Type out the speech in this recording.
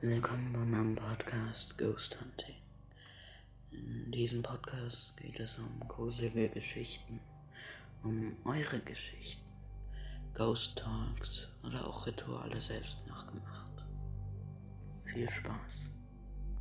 Willkommen bei meinem Podcast Ghost Hunting. In diesem Podcast geht es um gruselige Geschichten, um eure Geschichten, Ghost Talks oder auch Rituale selbst nachgemacht. Viel Spaß!